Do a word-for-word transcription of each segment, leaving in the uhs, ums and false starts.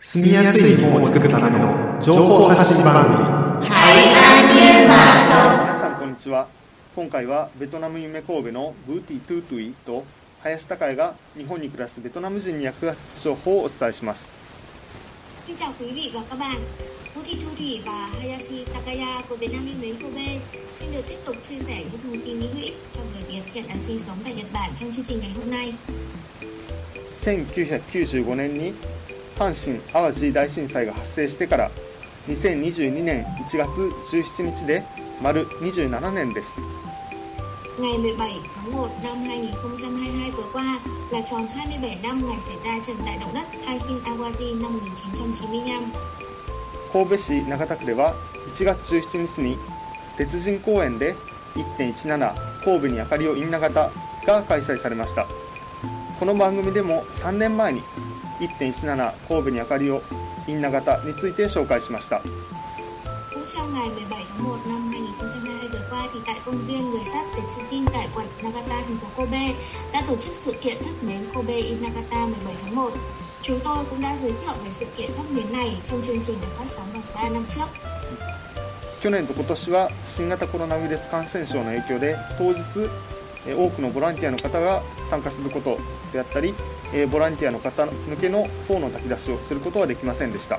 住みやすい日本を作るための情報発信番組。 皆さんこんにちは。今回はベトナム夢神戸のブーティ・トゥートゥイと林孝也が日本に暮らすベトナム人に役立つ情報をお伝えします。 Xin chào quý vị và các bạn. Vũ Thị Thu Thủy và Hayashi Takaya của Việt Nam Yêu Mến Kobe xin được tiếp tục chia sẻ những thông tin hữu ích cho người Việt hiện đang sinh sống tại Nhật Bản trong chương trình ngày hôm nay. せんきゅうひゃくきゅうじゅうごねんに阪神・淡路大震災が発生してからにせんにじゅうにねんいちがつじゅうしちにちで丸にじゅうななねんです。 Ngày mười bảy tháng một năm hai nghìn không trăm hai mươi hai vừa qua là tròn hai mươi bảy năm ngày xảy ra trận đại động đất Hanshin Awaji năm một nghìn chín trăm chín mươi lăm. 神戸市長田区ではいちがつじゅうしちにちに鉄人公園で いってんいちなな 神戸に明かりをインナ型が開催されました。この番組でもさんねんまえに いってんいちなな 神戸に明かりをインナ型について紹介しました。 Cũng trong ngày mười bảy tháng một năm hai nghìn không trăm hai mươi hai vừa qua thì tại công viên người sắt Tetsujin tại quận Nagata, thành phố Kobe đã tổ chức sự kiện thắp nến Kobe in Nagata mười bảy tháng một. Chúng tôi cũng đã giới thiệu về sự kiện thắp nến này trong chương trình được phát sóng vào ba năm trước. 去年と今年は新型コロナウイルス感染症の影響で当日多くのボランティアの方が参加することであったり、ボランティアの方向けのフォーの炊き出しをすることはできませんでした。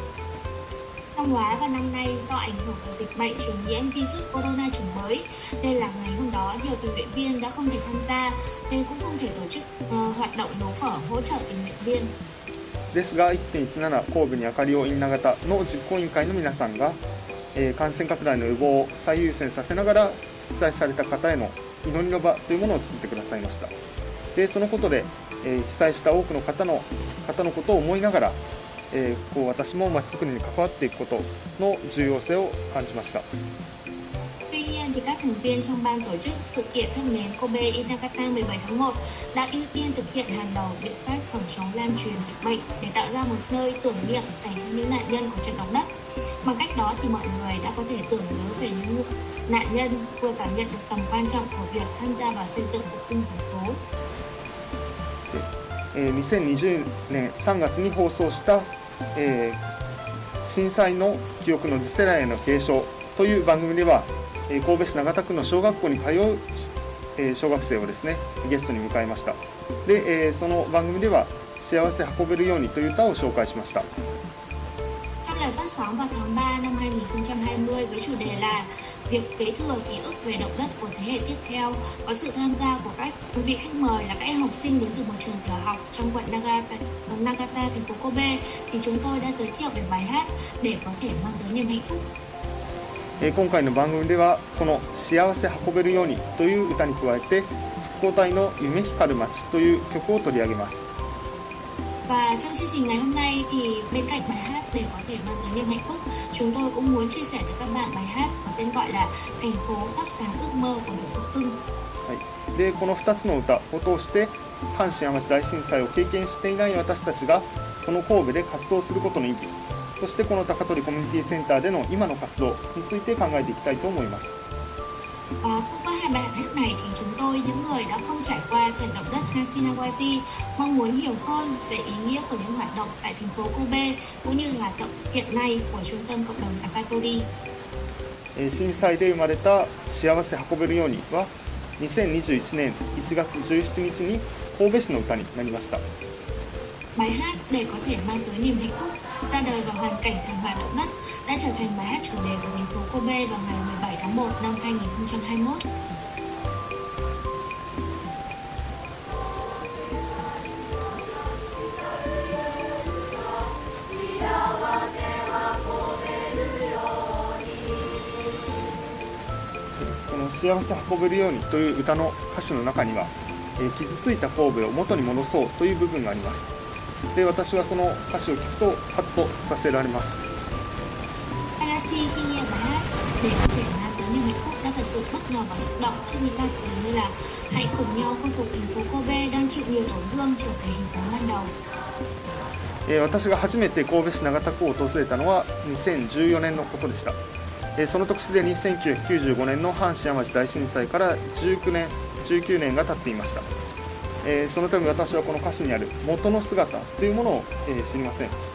Năm ngoái và năm nay do ảnh hưởng của dịch bệnh truyền nhiễm virus corona chủng mới nên là ngày hôm đó nhiều tình nguyện viên đã không thể tham gia nên cũng không thể tổ chức uh, hoạt động nấu phở hỗ trợ tình nguyện viên. ですが いってんいちなな 神戸に明かりをインナ型の実行委員会の皆さんが、えー、感染拡大の予防を最優先させながら被災された方への祈りの場というものを作ってくださいました。でそのことで、えー、被災した多くの方の方のことを思いながら、えー、こう私もまちづくりに関わっていくことの重要性を感じました。 Tuy nhiên thì các thành viên trong ban tổ chức sự kiện thắp nến Kobe in Nagata mười bảy tháng một đã ưu tiên thực hiện hàng đầu biện pháp phòng chống lan truyền dịch bệnh để tạo ra một nơi tưởng niệm dành cho những nạn nhân của trận động đất. Bằng cách đó thì mọi người đã có thể tưởng nhớ về những nạn nhân, vừa cảm nhận được tầm quan trọng của việc tham gia vào xây dựng phục hưng thành phố. にせんにじゅうねんさんがつに放送した、えー、震災の記憶の次世代への継承という番組では、えー、神戸市長田区の小学校に通う、えー、小学生をですねゲストに迎えました。で、えー、その番組では幸せ運べるようにという歌を紹介しました。 Trong lời phát sóng vào tháng ba năm hai nghìn không trăm hai mươi với chủ đề là việc kế thừa ký ức về động đất của thế hệ tiếp theo, có sự tham gia của các quý vị khách mời là các em học sinh đến từ một trường tiểu học trong quận Nagata, Nagata thành phố Kobe, thì chúng tôi đã giới thiệu về bài hát để có thể mang tới niềm hạnh phúc. 今回の番組ではこの幸せ運べるようにという歌に加えて復興隊の夢光る街という曲を取り上げます。 Và trong chương trình ngày hôm nay thì bên cạnh bài hát để có thể mang tới niềm hạnh phúc, chúng tôi cũng muốn chia sẻ với các bạn bài hát có tên gọi là Thành phố thắp sáng ước mơ của đội Phục Hưng. でこのふたつの歌を通して阪神・淡路大震災を経験していない私たちがこの神戸で活動することの意義、そしてこの高取コミュニティセンターでの今の活動について考えていきたいと思います。 Và thông qua hai bài hát này thì chúng tôi, những người đã không trải qua trận động đất Hanshin Awaji, mong muốn hiểu hơn về ý nghĩa của những hoạt động tại thành phố Kobe cũng như là hoạt động hiện nay của trung tâm cộng đồng Takatori. 震災で生まれた幸せ運べるようにはにせんにじゅういちねんいちがつじゅうしちにちに神戸市の歌になりました。 Bài hát để có thể mang tới niềm hạnh phúc ra đời vào hoàn cảnh thảm họa động đất đã trở thành bài hát chủ đề của thành phố Kobe vào ngày mười bảy tháng một năm hai nghìn không trăm hai mươi mốt. この幸せ運べるようにという歌の歌詞の中には、えー、傷ついた神戸を元に戻そうという部分があります。 で私はその歌詞を聞くとハッとさせられます。 Hayashi khi nghe bài hát để có thể mang tới niềm hạnh phúc đã thật sự bất ngờ và xúc động trước những ca từ như là hãy cùng nhau khôi phục thành phố Kobe đang chịu nhiều tổn thương trở về hình dáng ban đầu. えー、私が初めて神戸市長田区を訪れたのはにせんじゅうよねんのことでした。えー、その時すでにせんきゅうひゃくきゅうじゅうごねんの阪神・淡路大震災からじゅうきゅうねんじゅうきゅうねんが経っていました。えー、そのため私はこの歌詞にある元の姿というものを、えー、知りません。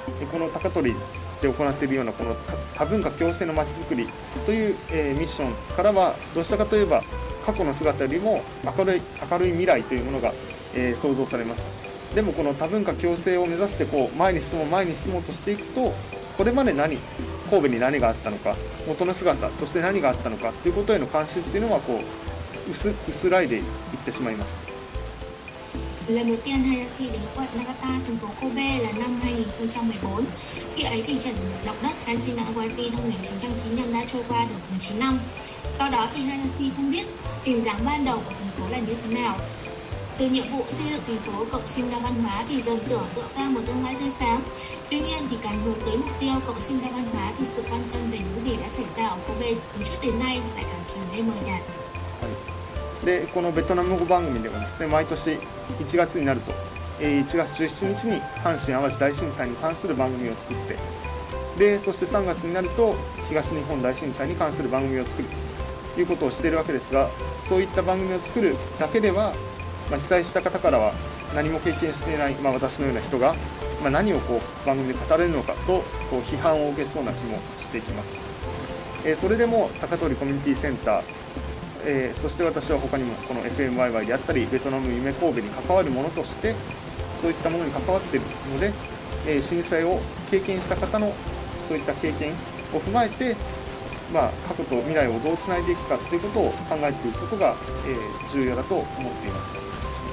この高取で行っているようなこの多文化共生のまちづくりという、えー、ミッションからはどちらかといえば過去の姿よりも明るい、明るい未来というものが、えー、想像されます。でもこの多文化共生を目指してこう前に進もう前に進もうとしていくと、これまで何神戸に何があったのか、元の姿として何があったのかということへの関心っていうのはこう 薄, 薄らいでいってしまいます。 Lần đầu tiên Hayashi đến quận Nagata, thành phố Kobe là năm hai nghìn không trăm mười bốn. Khi ấy thì trận động đất Hayashi-Nagawashi năm một nghìn chín trăm chín mươi lăm đã trôi qua được mười chín năm. Sau đó thì Hayashi không biết hình dáng ban đầu của thành phố là như thế nào. Từ nhiệm vụ xây dựng thành phố cộng sinh đa văn hóa thì dần tưởng tượng ra một tương lai tươi sáng. Tuy nhiên thì càng hướng tới mục tiêu cộng sinh đa văn hóa thì sự quan tâm về những gì đã xảy ra ở Kobe từ trước đến nay lại càng trở nên mờ nhạt. でこのベトナム語番組ではですね、毎年いちがつになると、えー、いちがつじゅうしちにちに阪神・淡路大震災に関する番組を作って、でそしてさんがつになると東日本大震災に関する番組を作るということをしているわけですが、そういった番組を作るだけでは、まあ、被災した方からは何も経験していない、まあ、私のような人が、まあ、何をこう番組で語れるのかとこう批判を受けそうな気もしていきます。えー、それでも高取コミュニティセンター、えー、そして私は他にもこの エフエムワイワイ であったりベトナム夢神戸に関わるものとしてそういったものに関わっているので、えー、震災を経験した方のそういった経験を踏まえて、まあ、過去と未来をどうつないでいくかということを考えていくことが、えー、重要だと思っています。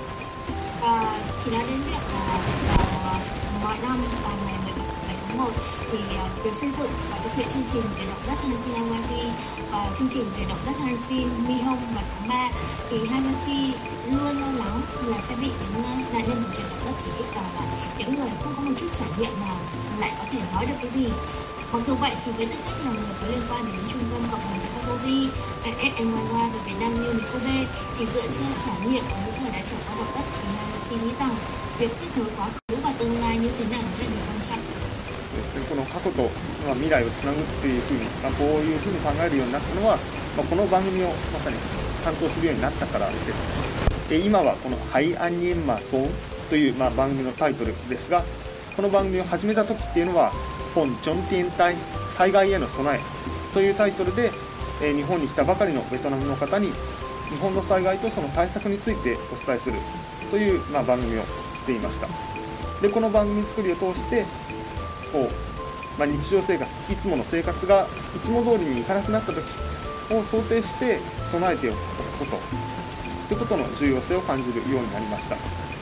À, chỉ nói đến việc là vào mọi năm vào ngày mười bảy tháng một thì uh, việc xây dựng và thực hiện chương trình về động đất Hayashi-Nagawashi và chương trình về động đất Hayashi-Mihong vào tháng ba thì Hayashi luôn lo lắng là sẽ bị những uh, nạn nhân của trận động đất chỉ trích rằng là những người không có một chút trải nghiệm nào lại có thể nói được cái gì. Mặc dù vậy thì với tư cách là người có liên quan đến trung tâm cộng đồng Takagori, ép em i và Việt Nam như Kobe thì dựa trên trải nghiệm của những người đã trải qua động đất thì Hayashi nghĩ rằng việc kết nối quá khứ và tương lai như thế nào là điều quan trọng. この過去と未来をつなぐっていうふうに、まあ、こういうふうに考えるようになったのは、まあ、この番組をまさに担当するようになったからです。で今はこのハイアンニエンマソンという、まあ、番組のタイトルですが、この番組を始めた時っていうのはフォン・ジョンティエンタイ災害への備えというタイトルで、えー、日本に来たばかりのベトナムの方に日本の災害とその対策についてお伝えするという、まあ、番組をしていました。でこの番組作りを通してこう、まあ、日常生活いつもの生活がいつも通りにいかなくなった時を想定して備えておくことということの重要性を感じるようになりました。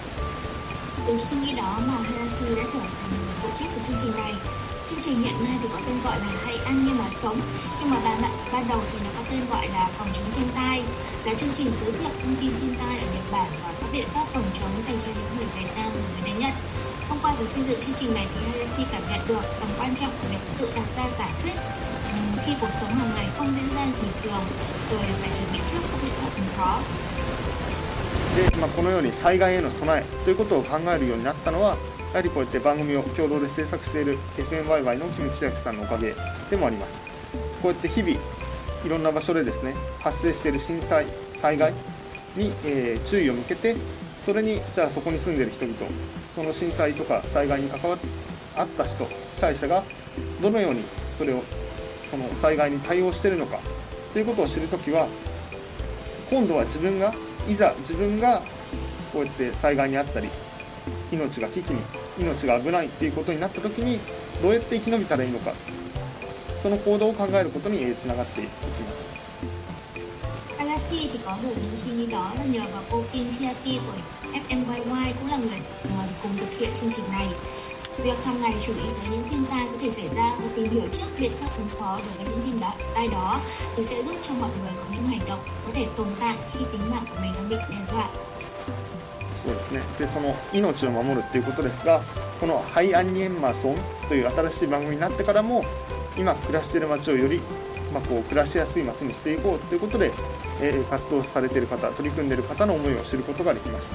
Từ suy nghĩ đó mà Hayashi đã trở thành người phụ trách của chương trình này. Chương trình hiện nay thì có tên gọi là Hãy ăn nhưng mà sống, nhưng mà ban, ban đầu thì nó có tên gọi là Phòng chống thiên tai, là chương trình giới thiệu thông tin thiên tai ở Nhật Bản và các biện pháp phòng chống dành cho những người Việt Nam và người đến Nhật. Thông qua việc xây dựng chương trình này thì Hayashi cảm nhận được tầm quan trọng của việc tự đặt ra giải quyết khi cuộc sống hàng ngày không diễn ra bình thường, rồi phải chuẩn bị trước các biện pháp ứng phó. でまあ、このように災害への備えということを考えるようになったのは、やはりこうやって番組を共同で制作している エフエムワイワイ の木口千秋さんのおかげでもあります。こうやって日々いろんな場所でですね発生している震災災害に、えー、注意を向けて、それにじゃあそこに住んでいる人々、その震災とか災害に関わった人、被災者がどのようにそれをその災害に対応しているのかということを知るときは、今度は自分がいざ自分がこうやって災害にあったり命が危機に命が危ないっていうことになった時にどうやって生き延びたらいいのか、その行動を考えることにつながっていきます。 Hayashi thì có được những suy nghĩ đó là nhờ vào cô Kim Chiaki của ép em i cũng là người cùng thực hiện chương trình này. Việc hàng ngày chú ý tới những thiên tai có thể xảy ra và tìm hiểu trước biện pháp ứng phó đối với những thiên tai đó thì sẽ giúp cho mọi người có những hành động có thể tồn tại khi tính mạng của mình đang bị đe dọa. そうですね。で、その命を守るっていうことですが、このハイアンニエンマソンという新しい番組になってからも、今暮らしている街をより、まあ、こう暮らしやすい街にしていこうということで、えー、活動されている方、取り組んでいる方の思いを知ることができました。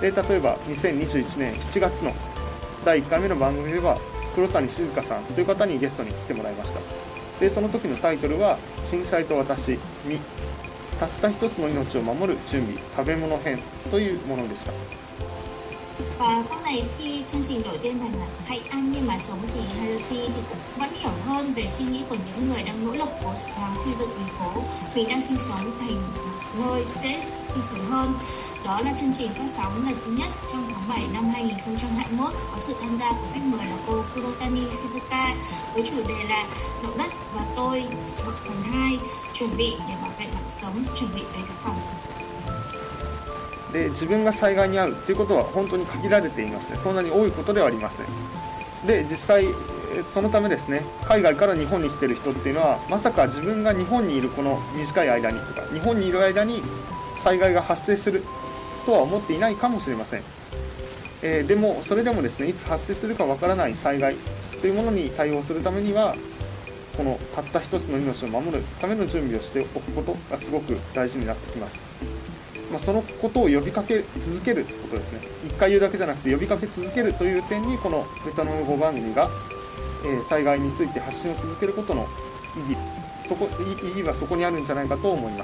で、例えばにせんにじゅういちねんしちがつのだいいっかいめの番組では黒谷静香さんという方にゲストに来てもらいました。で、その時のタイトルは震災と私にたった一つの命を守る準備食べ物編というものでした。 Và sau này khi chương trình đổi tên thành là Hãy ăn nhưng mà sống thì Hayashi thì cũng vẫn hiểu hơn về suy nghĩ của những người đang nỗ lực cố gắng xây dựng thành phố mình đang sinh sống thành nơi dễ sinh sống hơn. Đó là chương trình phát sóng lần thứ nhất trong tháng bảy năm hai nghìn không trăm hai mươi mốt, có sự tham gia của khách mời là cô Kurotani Shizuka với chủ đề là Động đất và tôi phần hai, chuẩn bị để bảo vệ mạng sống, chuẩn bị về thực phẩm. で自分が災害に遭うということは本当に限られていますね。そんなに多いことではありません。で実際そのためですね、海外から日本に来ている人っていうのはまさか自分が日本にいるこの短い間にとか日本にいる間に災害が発生するとは思っていないかもしれません。えー、でもそれでもですね、いつ発生するかわからない災害というものに対応するためにはこのたった一つの命を守るための準備をしておくことがすごく大事になってきます。まあ、そのことを呼びかけ続けることですね。一回言うだけじゃなくて呼びかけ続けるという点にこのベトナム語番組が、えー、災害について発信を続けることの意義、そこ意義がそこにあるんじゃないかと思います。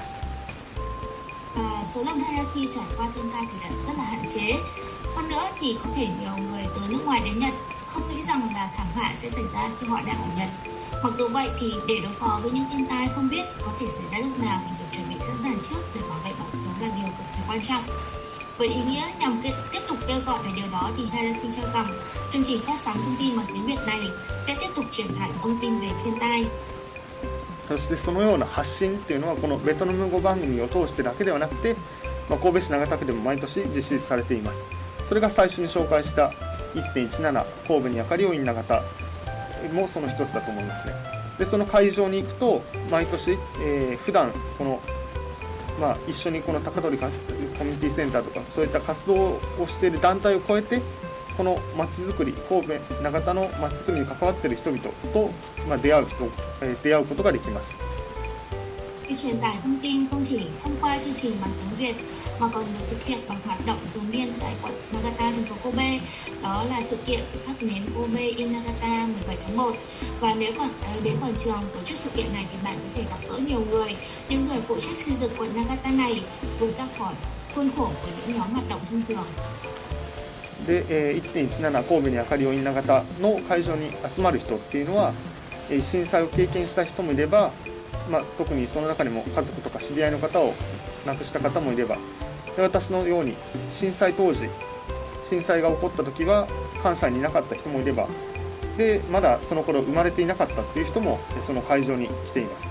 À, số lần Hayashi trải qua thiên tai thì rất là hạn chế. Hơn nữa thì có thể nhiều người từ nước ngoài đến Nhật không nghĩ rằng là thảm họa sẽ xảy ra khi họ đang ở Nhật. Mặc dù vậy thì để đối phó với những thiên tai không biết có thể xảy ra lúc nào thì phải chuẩn bị sẵn sàng trước để bảo vệ mạng sống là điều cực kỳ quan trọng. Với ý nghĩa nhằm tiếp tục kêu gọi về điều đó thì Hayashi cho rằng chương trình phát sóng thông tin bằng tiếng Việt này sẽ tiếp tục truyền tải thông tin về thiên tai. そしてそのような発信っていうのはこのベトナム語番組を通してだけではなくて、まあ、神戸市長田区でも毎年実施されています。それが最初に紹介した いってんいちなな 神戸に明かりをインナ型もその一つだと思いますね。でその会場に行くと毎年、えー、普段この、まあ、一緒にこの高取コミュニティセンターとかそういった活動をしている団体を超えてこのまちづくり、神戸長田のまちづくりに関わっている人々と、まあ、出会う人、えー、出会うことができます。 Khi truyền tải thông tin không chỉ thông qua chương trình bằng tiếng Việt mà còn được thực hiện bằng hoạt động thường niên tại quận Nagata, thành phố Kobe. Đó là sự kiện thắp nến Kobe in Nagata mười bảy tháng một. Và nếu bạn đến quảng trường tổ chức sự kiện này thì bạn có thể gặp gỡ nhiều người, những người phụ trách xây dựng quận Nagata này vượt ra khỏi khuôn khổ của những nhóm hoạt động thông thường. で、えー、いってんいちなな 神戸に明かりをインナ型の会場に集まる人っていうのは、えー、震災を経験した人もいれば、まあ、特にその中にも家族とか知り合いの方を亡くした方もいれば、で私のように震災当時震災が起こった時は関西にいなかった人もいれば、でまだその頃生まれていなかったっていう人もその会場に来ています。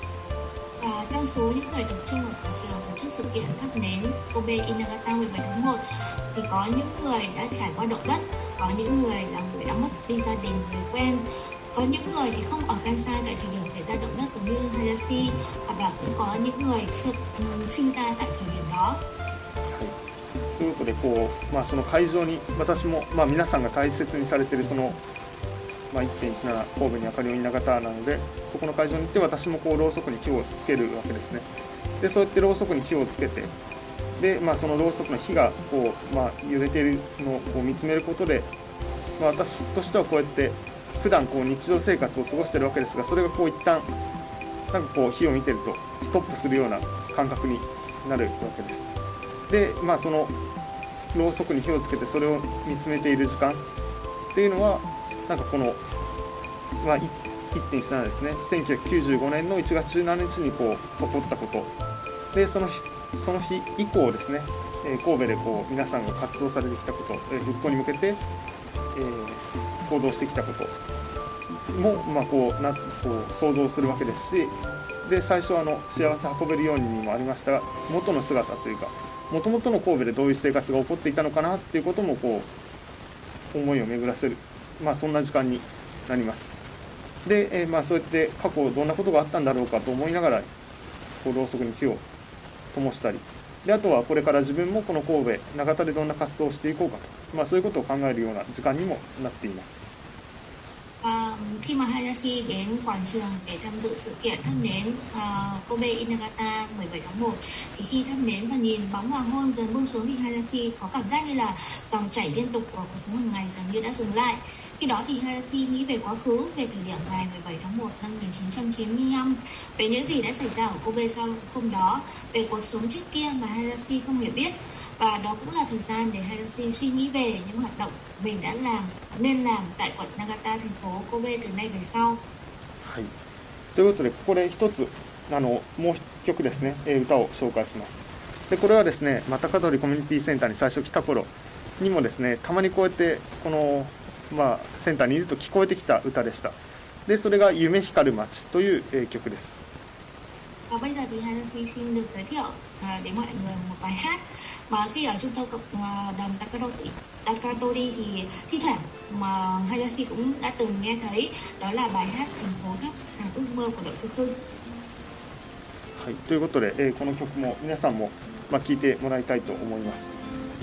Và trong số những người tập trung ở quảng trường tổ chức sự kiện thắp nến Kobe in Nagata mười bảy tháng một thì có những người đã trải qua động đất, có những người là người đã mất đi gia đình, người quen, có những người thì không ở Kansai tại thời điểm xảy ra động đất giống như Hayashi, hoặc là cũng có những người chưa sinh ra tại thời điểm đó. ということでこう、まあ、その会場に私も、まあ、皆さんが大切にされているその、まあ、いってんいちなな 神戸に明かりをインナ型なのでそこの会場に行って私もこうろうそくに火をつけるわけですね。でそうやってろうそくに火をつけてで、まあ、そのろうそくの火がこう、まあ、揺れているのをこう見つめることで、まあ、私としてはこうやって普段こう日常生活を過ごしているわけですが、それがこう一旦なんかこう火を見てるとストップするような感覚になるわけです。で、まあ、そのろうそくに火をつけてそれを見つめている時間っていうのはなんかこの、まあ、いってんいちななですね、せんきゅうひゃくきゅうじゅうごねんのいちがつじゅうしちにちにこう起こったことで、その日その日以降ですね、えー、神戸でこう皆さんが活動されてきたこと、えー、復興に向けて、えー、行動してきたことも、まあ、こうなこう想像するわけですし、で最初はあの幸せ運べるようににもありましたが元の姿というかもともとの神戸でどういう生活が起こっていたのかなっていうこともこう思いを巡らせる、まあ、そんな時間になります。で、えー、まあそうやって過去どんなことがあったんだろうかと思いながらこうろうそくに火を灯したり、であとはこれから自分もこの神戸長田でどんな活動をしていこうかと、まあ、そういうことを考えるような時間にもなっています。 À, khi mà Hayashi đến quảng trường để tham dự sự kiện thắp nến uh, Kobe in Nagata mười bảy tháng một thì khi thắp nến và nhìn bóng hoàng hôn dần buông xuống thì Hayashi có cảm giác như là dòng chảy liên tục của cuộc sống hàng ngày dường như đã dừng lại. Khi đó thì Hayashi nghĩ về quá khứ, về thời điểm ngày mười bảy tháng một năm một nghìn chín trăm chín mươi lăm, về những gì đã xảy ra ở Kobe sau hôm đó, về cuộc sống trước kia mà Hayashi không hề biết. Và đó cũng là thời gian để Hayashi suy nghĩ về những hoạt động mình đã làm, nên làm tại quận Nagata, thành phố Kobe từ nay về sau. はい、ということで、ここで一つあのもう一曲ですね、えー歌を紹介します。でこれはですね、また高取コミュニティセンターに最初来た頃にもですね、たまにこうやってこの、まあ、センターにいると聞こえてきた歌でした。でそれが夢光る街という、えー曲です。 Và bây giờ thì Hayashi xin được giới thiệu uh, đến mọi người một bài hát mà khi ở trung tâm cộng uh, đồng Takatori, Takatori thì thi thoảng mà Hayashi cũng đã từng nghe thấy, đó là bài hát Thành phố thắp sáng ước mơ của đội Phương Phương. はい、ということで、えーこの曲も皆さんも、まあ、聴いてもらいたいと思います。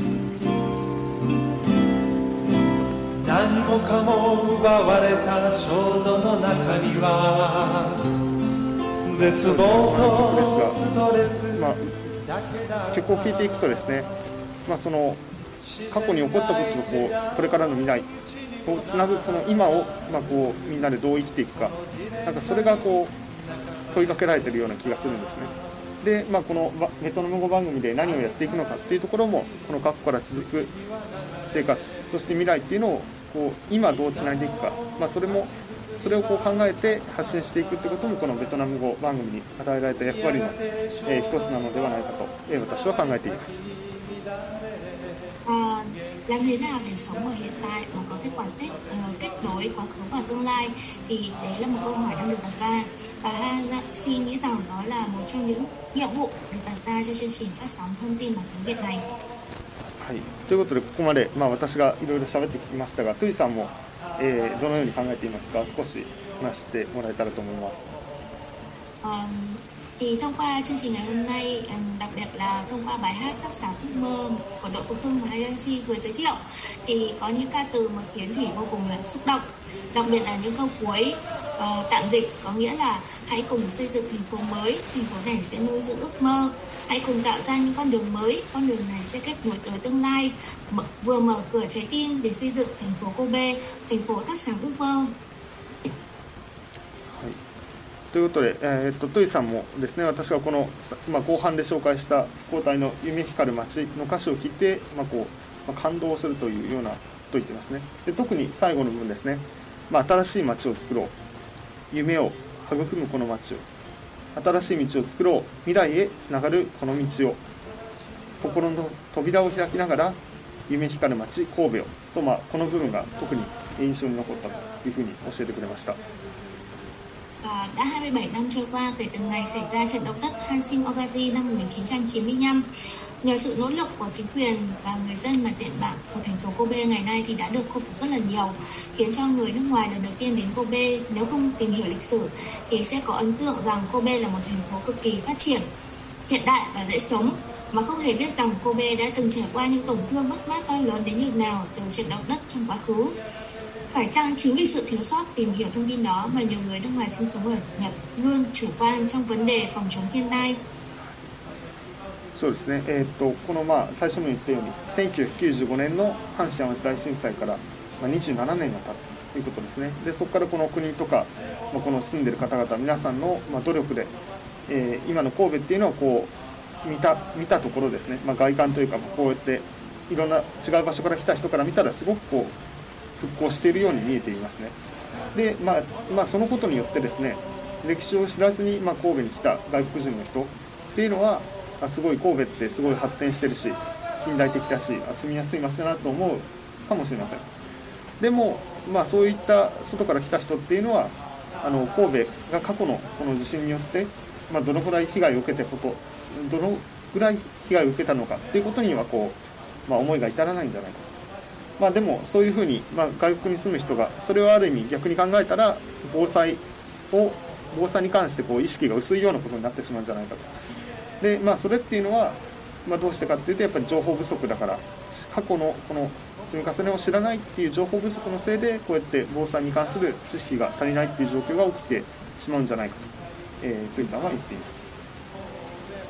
何もかも奪われた衝動の中には絶望とストレス、 まあ、曲を聴いていくとですね、まあ、その過去に起こったこととこうこれからの未来をつなぐこの今を、まあ、こうみんなでどう生きていくか、なんかそれがこう問いかけられているような気がするんですね。で、まあ、このベトナム語番組で何をやっていくのかっていうところも、この過去から続く生活、そして未来っていうのをこう今どうつないでいくか、まあ、それもそれをこう考えて発信していくってことも、このベトナム語番組に与えられた役割の、えー、一つなのではないかと、えー、私は考えています。 À, làm thế nào để sống ở hiện tại mà có kết quả kết, uh, kết nối quá khứ và tương lai, thì đấy là một câu hỏi đang được đặt ra, và Hayashi nghĩ rằng đó là một trong những nhiệm vụ được đặt ra cho chương trình phát sóng thông tin bằng tiếng Việt này. はい、ということでここまで、まあ、私がいろいろ喋ってきましたが、トゥイさんも、えー、どのように考えていますか、少し話してもらえたらと思います。 Um, thì thông qua chương trình ngày hôm nay, đặc biệt là thông qua bài hát Thắp sáng ước mơ của đội Phú Hưng và Hayashi vừa giới thiệu, thì có những ca từ mà khiến Thủy vô cùng là xúc động, đặc biệt là những câu cuối uh, tạm dịch có nghĩa là hãy cùng xây dựng thành phố mới, thành phố này sẽ nuôi dưỡng ước mơ, hãy cùng tạo ra những con đường mới, con đường này sẽ kết nối tới tương lai, M- vừa mở cửa trái tim để xây dựng thành phố Kobe, thành phố thắp sáng ước mơ. ということで、えー、っとトゥイさんもですね、私がこの、まあ、後半で紹介した交代の夢光る街の歌詞を聞いて、まあこうまあ、感動するというようなことを言ってますね。で特に最後の部分ですね、まあ、新しい街を作ろう、夢を育むこの街を、新しい道を作ろう、未来へつながるこの道を、心の扉を開きながら夢光る街神戸をと、まあ、この部分が特に印象に残ったというふうに教えてくれました。 À, đã hai mươi bảy năm trôi qua kể từ ngày xảy ra trận động đất Hanshin Ogaji năm một nghìn chín trăm chín mươi lăm. Nhờ sự nỗ lực của chính quyền và người dân mà diện mạo của thành phố Kobe ngày nay thì đã được khôi phục rất là nhiều, khiến cho người nước ngoài lần đầu tiên đến Kobe, nếu không tìm hiểu lịch sử thì sẽ có ấn tượng rằng Kobe là một thành phố cực kỳ phát triển, hiện đại và dễ sống, mà không hề biết rằng Kobe đã từng trải qua những tổn thương mất mát to lớn đến nhường nào từ trận động đất trong quá khứ. Phải chăng chính vì sự thiếu sót tìm hiểu thông tin đó mà nhiều người nước ngoài sinh sống ở Nhật luôn chủ quan trong vấn đề phòng chống thiên tai? そうですね、えー、とこの、まあ、最初に言ったようにせんきゅうひゃくきゅうじゅうごねんの阪神・淡路大震災から、まあ、にじゅうななねんが経つということですね。でそこからこの国とか、まあ、この住んでる方々皆さんの、まあ、努力で、えー、今の神戸っていうのはこう見た、見たところですね、まあ、外観というか、こうやっていろんな違う場所から来た人から見たらすごくこう復興しているように見えていますね。で、まあまあ、そのことによってですね、歴史を知らずに、まあ、神戸に来た外国人の人っていうのは、あすごい神戸ってすごい発展してるし近代的だし、あ住みやすい街だなと思うかもしれません。でも、まあ、そういった外から来た人っていうのは、あの神戸が過去のこの地震によって、まあ、どのぐらい被害を受けたこと、どのぐらい被害を受けたのかっていうことにはこう、まあ、思いが至らないんじゃないかと。まあ、でもそういうふうに、まあ、外国に住む人がそれをある意味逆に考えたら防災を防災に関してこう意識が薄いようなことになってしまうんじゃないかと。で、まあ、それっていうのは、まあ、どうしてかっていうとやっぱり情報不足だから、過去のこの積み重ねを知らないっていう情報不足のせいでこうやって防災に関する知識が足りないっていう状況が起きてしまうんじゃないかと、えー、トゥイさんは言っています。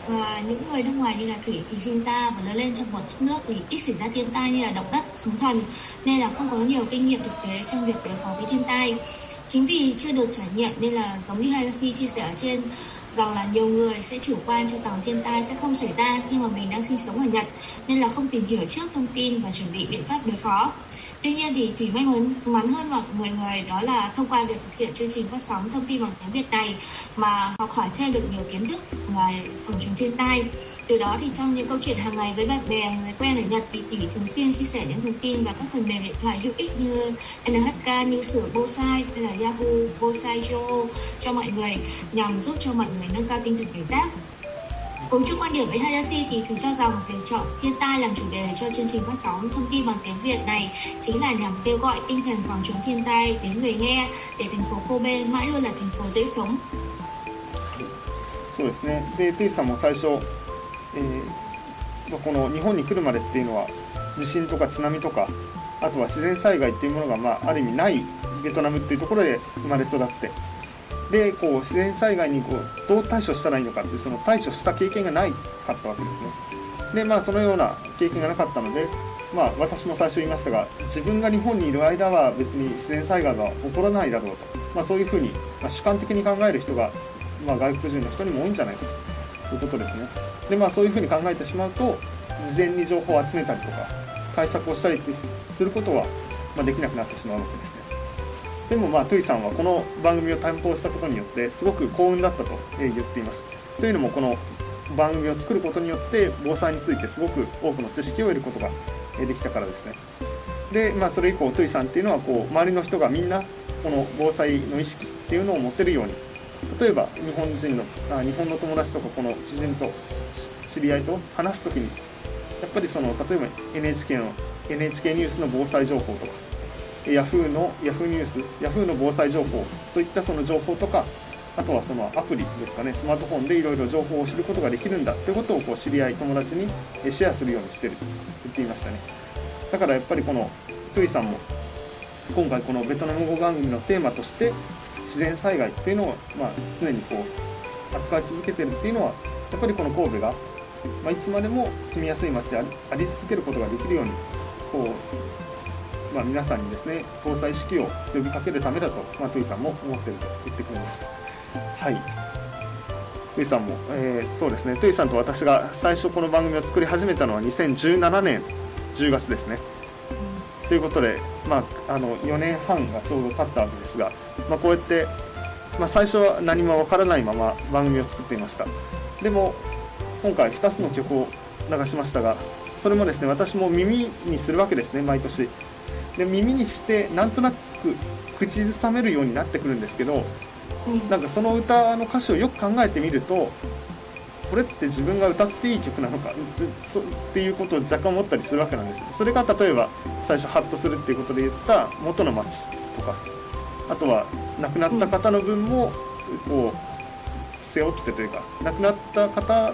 Và những người nước ngoài như là Thủy thì sinh ra và lớn lên trong một đất nước thì ít xảy ra thiên tai như là động đất, sóng thần, nên là không có nhiều kinh nghiệm thực tế trong việc đối phó với thiên tai. Chính vì chưa được trải nghiệm nên là giống như Hayashi chia sẻ ở trên rằng là nhiều người sẽ chủ quan cho rằng thiên tai sẽ không xảy ra khi mà mình đang sinh sống ở Nhật, nên là không tìm hiểu trước thông tin và chuẩn bị biện pháp đối phó. Tuy nhiên thì Thủy may mắn, mắn hơn mọi người người đó là thông qua việc thực hiện chương trình phát sóng thông tin bằng tiếng Việt này mà học hỏi thêm được nhiều kiến thức về phòng chống thiên tai. Từ đó thì trong những câu chuyện hàng ngày với bạn bè, người quen ở Nhật thì Thủy thường xuyên chia sẻ những thông tin và các phần mềm điện thoại hữu ích như en hát ca, như sửa Bosai hay là Yahoo Bosai Joe cho mọi người nhằm giúp cho mọi người nâng cao tinh thần cảnh giác. Cùng chung quan điểm với Hayashi thì Thủy cho rằng việc chọn thiên tai làm chủ đề cho chương trình phát sóng thông tin bằng tiếng Việt này chính là nhằm kêu gọi tinh thần phòng chống thiên tai đến người nghe để thành phố Kobe mãi luôn là thành phố dễ sống. そうですね。で、トゥイさんも最初、えー、この日本に来るまでっていうのは地震とか津波とかあとは自然災害っていうものが、まあ、ある意味ないベトナムっていうところで生まれ育ってでこう自然災害にこうどう対処したらいいのかっていうその対処した経験がないかったわけですね。でまあそのような経験がなかったので、まあ、私も最初言いましたが自分が日本にいる間は別に自然災害が起こらないだろうと、まあ、そういうふうに、まあ、主観的に考える人が、まあ、外国人の人にも多いんじゃないかということですね。でまあそういうふうに考えてしまうと事前に情報を集めたりとか対策をしたりすることは、まあ、できなくなってしまうわけですね。でもまあトゥイさんはこの番組を担当したことによってすごく幸運だったと言っています。というのもこの番組を作ることによって防災についてすごく多くの知識を得ることができたからですね。でまあそれ以降トゥイさんっていうのはこう周りの人がみんなこの防災の意識っていうのを持ってるように例えば日本人のあ日本の友達とかこの知人と知り合いと話すときにやっぱりその例えば エヌエイチケー の エヌエイチケー ニュースの防災情報とかヤフーのヤフーニュース、ヤフーの防災情報といったその情報とか、あとはそのアプリですかね、スマートフォンでいろいろ情報を知ることができるんだということをこう知り合い、友達にシェアするようにしてると言っていましたね。だからやっぱりこのトゥイさんも今回このベトナム語番組のテーマとして自然災害っていうのをまあ常にこう扱い続けてるっていうのはやっぱりこの神戸がまあいつまでも住みやすい街であり続けることができるようにこうまあ、皆さんにですね防災意識を呼びかけるためだと、まあ、トゥイさんも思っていると言ってくれました。はい、トゥイさんも、えー、そうですねトゥイさんと私が最初この番組を作り始めたのはにせんじゅうななねんじゅうがつですね。ということで、まあ、あのよねんはんがちょうど経ったわけですが、まあ、こうやって、まあ、最初は何もわからないまま番組を作っていました。でも今回ふたつの曲を流しましたがそれもですね私も耳にするわけですね毎年。で耳にしてなんとなく口ずさめるようになってくるんですけど、うん、なんかその歌の歌詞をよく考えてみるとこれって自分が歌っていい曲なのかっていうことを若干思ったりするわけなんです。それが例えば最初ハッとするっていうことで言った元の町とかあとは亡くなった方の分もこう背負ってというか亡くなった方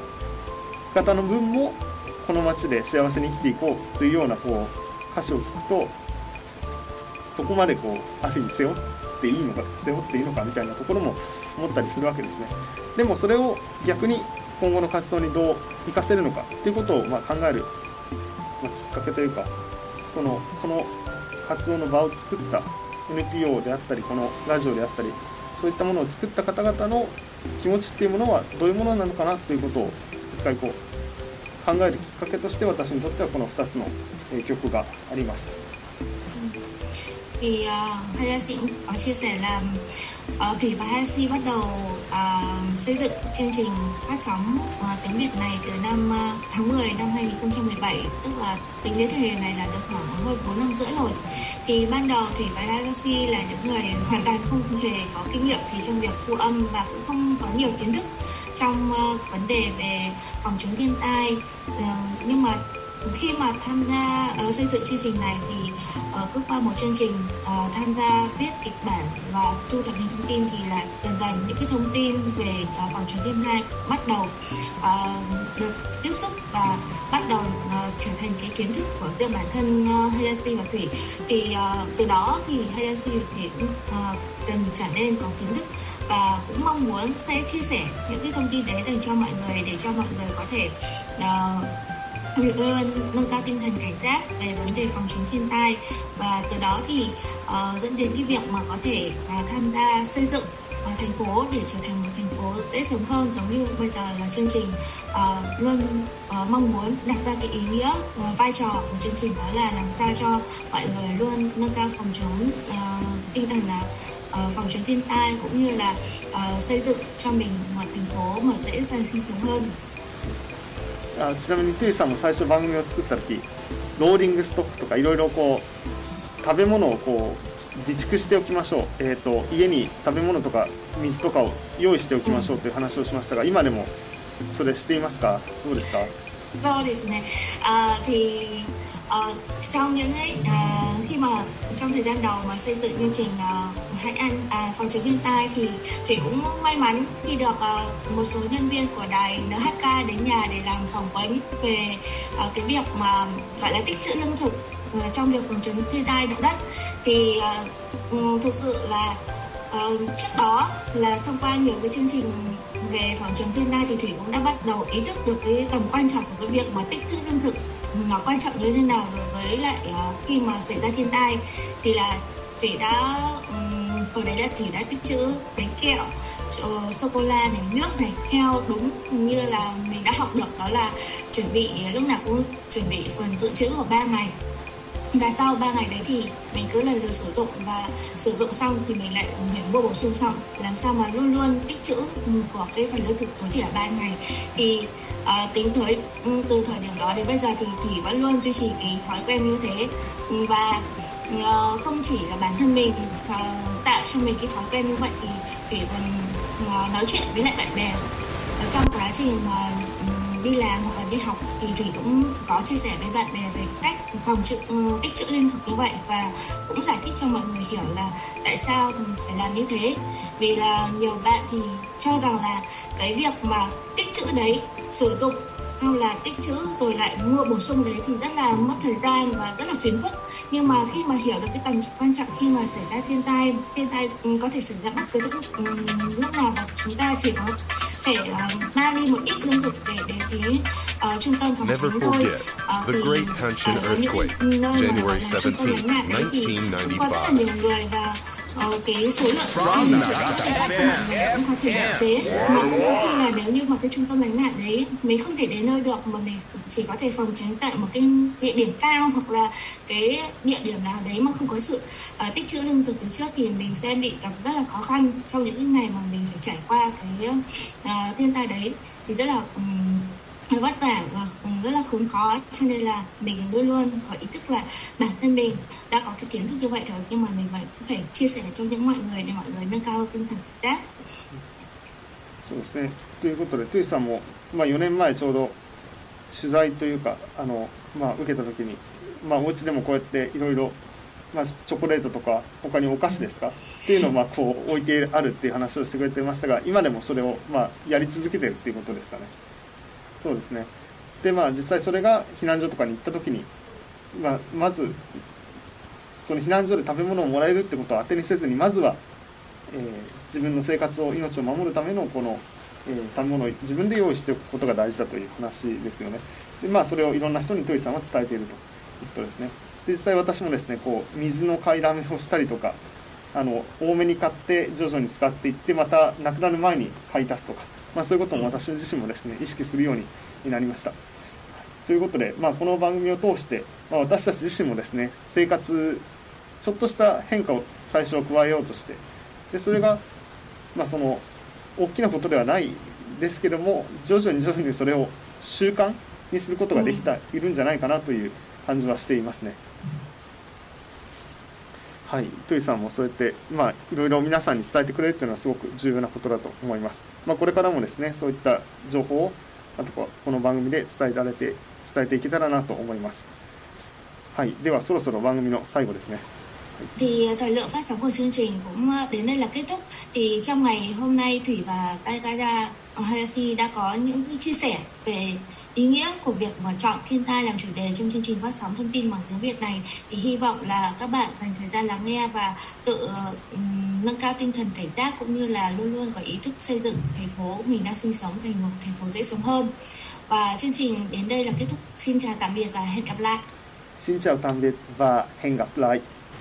々の分もこの町で幸せに生きていこうというようなこう歌詞を聞くとそこまでこうある意味背負っていいのか背負っていいのかみたいなところも思ったりするわけですね。でもそれを逆に今後の活動にどう生かせるのかっていうことをまあ考える、まあ、きっかけというかそのこの活動の場を作った エヌピーオー であったりこのラジオであったりそういったものを作った方々の気持ちっていうものはどういうものなのかなということを一回こう考えるきっかけとして私にとってはこのふたつの曲がありました。 Thì uh, Hayashi cũng có chia sẻ là uh, Thủy và Hayashi bắt đầu uh, xây dựng chương trình phát sóng uh, tiếng Việt này từ năm uh, tháng mười năm hai nghìn không trăm mười bảy, tức là tính đến thời điểm này là được khoảng hơn bốn năm rưỡi rồi. Thì ban đầu Thủy và Hayashi là những người hoàn toàn không hề có kinh nghiệm gì trong việc thu âm và cũng không có nhiều kiến thức trong uh, vấn đề về phòng chống thiên tai. Uh, nhưng mà khi mà tham gia uh, xây dựng chương trình này thì uh, cứ qua một chương trình uh, tham gia viết kịch bản và thu thập những thông tin thì là dần dần những cái thông tin về uh, phòng chống viêm tai bắt đầu uh, được tiếp xúc và bắt đầu uh, trở thành cái kiến thức của riêng bản thân uh, Hayashi và Thủy. Thì uh, từ đó thì Hayashi và Thủy cũng uh, dần trở nên có kiến thức và cũng mong muốn sẽ chia sẻ những cái thông tin đấy dành cho mọi người để cho mọi người có thể uh, luôn nâng cao tinh thần cảnh giác về vấn đề phòng chống thiên tai, và từ đó thì uh, dẫn đến cái việc mà có thể uh, tham gia xây dựng uh, thành phố để trở thành một thành phố dễ sống hơn, giống như bây giờ là chương trình uh, luôn uh, mong muốn đặt ra cái ý nghĩa và vai trò của chương trình, đó là làm sao cho mọi người luôn nâng cao phòng chống uh, tinh thần là uh, phòng chống thiên tai, cũng như là uh, xây dựng cho mình một thành phố mà dễ dàng sinh sống hơn. あちなみにトゥーさんも最初番組を作った時ローリングストックとかいろいろこう食べ物をこう備蓄しておきましょう、えー、と家に食べ物とか水とかを用意しておきましょうという話をしましたが、今でもそれしていますか？どうですか？ そうですね。À, thì uh, trong những ấy uh, khi mà trong thời gian đầu mà xây dựng chương trình uh, hãy ăn uh, phòng chống thiên tai thì Thủy cũng may mắn khi được uh, một số nhân viên của đài en hát ca đến nhà để làm phỏng vấn về uh, cái việc mà gọi là tích trữ lương thực uh, trong việc phòng chống thiên tai động đất. Thì uh, um, thực sự là uh, trước đó là thông qua nhiều cái chương trình về phòng chống thiên tai thì Thủy cũng đã bắt đầu ý thức được cái tầm quan trọng của cái việc mà tích trữ lương thực nó quan trọng như thế nào đối với lại uh, khi mà xảy ra thiên tai. Thì là Thủy đã um, hồi đấy là Thủy đã tích trữ bánh kẹo, uh, sô cô la này, nước này, theo đúng như là mình đã học được, đó là chuẩn bị lúc nào cũng chuẩn bị phần dự trữ của ba ngày. Và sau ba ngày đấy thì mình cứ lần lượt sử dụng, và sử dụng xong thì mình lại mua bổ sung xong, làm sao mà luôn luôn tích trữ của cái phần lương thực tối thiểu ba ngày. Thì uh, tính tới từ thời điểm đó đến bây giờ thì Thủy vẫn luôn duy trì cái thói quen như thế, và uh, không chỉ là bản thân mình uh, tạo cho mình cái thói quen như vậy thì Thủy còn uh, nói chuyện với lại bạn bè uh, trong quá trình mà uh, đi làm hoặc là đi học thì Thủy cũng có chia sẻ với bạn bè về cách phòng trữ tích trữ lương thực như vậy, và cũng giải thích cho mọi người hiểu là tại sao phải làm như thế. Vì là nhiều bạn thì cho rằng là cái việc mà tích trữ đấy, sử dụng sau là tích trữ rồi lại mua bổ sung đấy thì rất là mất thời gian và rất là phiền phức. Nhưng mà khi mà hiểu được cái tầm quan trọng khi mà xảy ra thiên tai, thiên tai có thể xảy ra bất cứ lúc, lúc nào, và chúng ta chỉ có thể uh, mang đi một ít lương thực để đến cái uh, trung tâm phòng chống thôi. Uh, The Great Hanshin Earthquake, January seventeenth, nineteen ninety-five. Có rất là nhiều người và uh, cái số lượng ăn thực sự là cho mọi người cũng có thể hạn chế, mà cũng có khi là nếu như mà cái trung tâm lánh nạn đấy mình không thể đến nơi được, mà mình chỉ có thể phòng tránh tại một cái địa điểm cao hoặc là cái địa điểm nào đấy mà không có sự uh, tích trữ lương thực từ trước, thì mình sẽ bị gặp rất là khó khăn trong những cái ngày mà mình phải trải qua cái uh, thiên tai đấy, thì rất là um, vất vả và rất là khốn khó. Cho nên là mình luôn luôn có ý thức là bản thân mình đã có cái kiến thức như vậy rồi, nhưng mà mình vẫn phải chia sẻ cho những mọi người để mọi người nâng cao tinh thần cảnh giác. そうですね。ということで、トゥーさんも、まあ、よねんまえちょうど取材というかあの、まあ、受けた時に、まあ、お家でもこうやっていろいろチョコレートとか他にお菓子ですかっていうのをまあこう置いてあるっていう話をしてくれてましたが、今でもそれをまあやり続けてるっていうことですかね。そうですね。でまあ実際それが避難所とかに行った時に、まあ、まずその避難所で食べ物をもらえるってことを当てにせずに、まずは、えー、自分の生活を命を守るためのこの、えー、食べ物を自分で用意しておくことが大事だという話ですよね。でまあそれをいろんな人にトゥイさんは伝えているということですね。で実際私もですねこう水の買いだめをしたりとか、あの多めに買って徐々に使っていって、またなくなる前に買い足すとか、まあ、そういうことも私自身もですね意識するようになりました。ということで、まあ、この番組を通して、まあ、私たち自身もですね生活ちょっとした変化を最初は加えようとして、でそれが、まあ、その大きなことではないですけども、徐々に徐々にそれを習慣にすることができているんじゃないかなという感じはしていますね。はい、トゥイさんもそうやって、まあ、いろいろ皆さんに伝えてくれるというのはすごく重要なことだと思います。まあ、これからもですねそういった情報をあとこの番組で伝えられて伝えていけたらなと思います。はい、ではそろそろ番組の最後ですね。 Thì thời lượng phát sóng của chương trình cũng đến đây là kết thúc. Thì trong ngày hôm nay Thủy và Taikara Hayashi đã có những chia sẻ về ý nghĩa của việc mà chọn thiên tai làm chủ đề trong chương trình phát sóng thông tin bằng tiếng Việt này. Thì hy vọng là các bạn dành thời gian lắng nghe và tự um, nâng cao tinh thần cảnh giác, cũng như là luôn luôn có ý thức xây dựng thành phố mình đang sinh sống thành một thành phố dễ sống hơn. Và chương trình đến đây là kết thúc. Xin chào tạm biệt và hẹn gặp lại. Xin chào tạm biệt và hẹn gặp lại.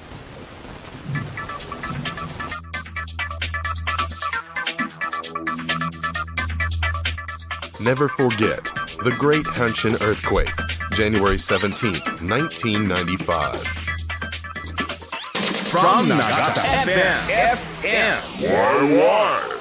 Never forget the Great Hanshin Earthquake, January seventeenth, nineteen ninety-five. From Nagata F M. F M. Why, why?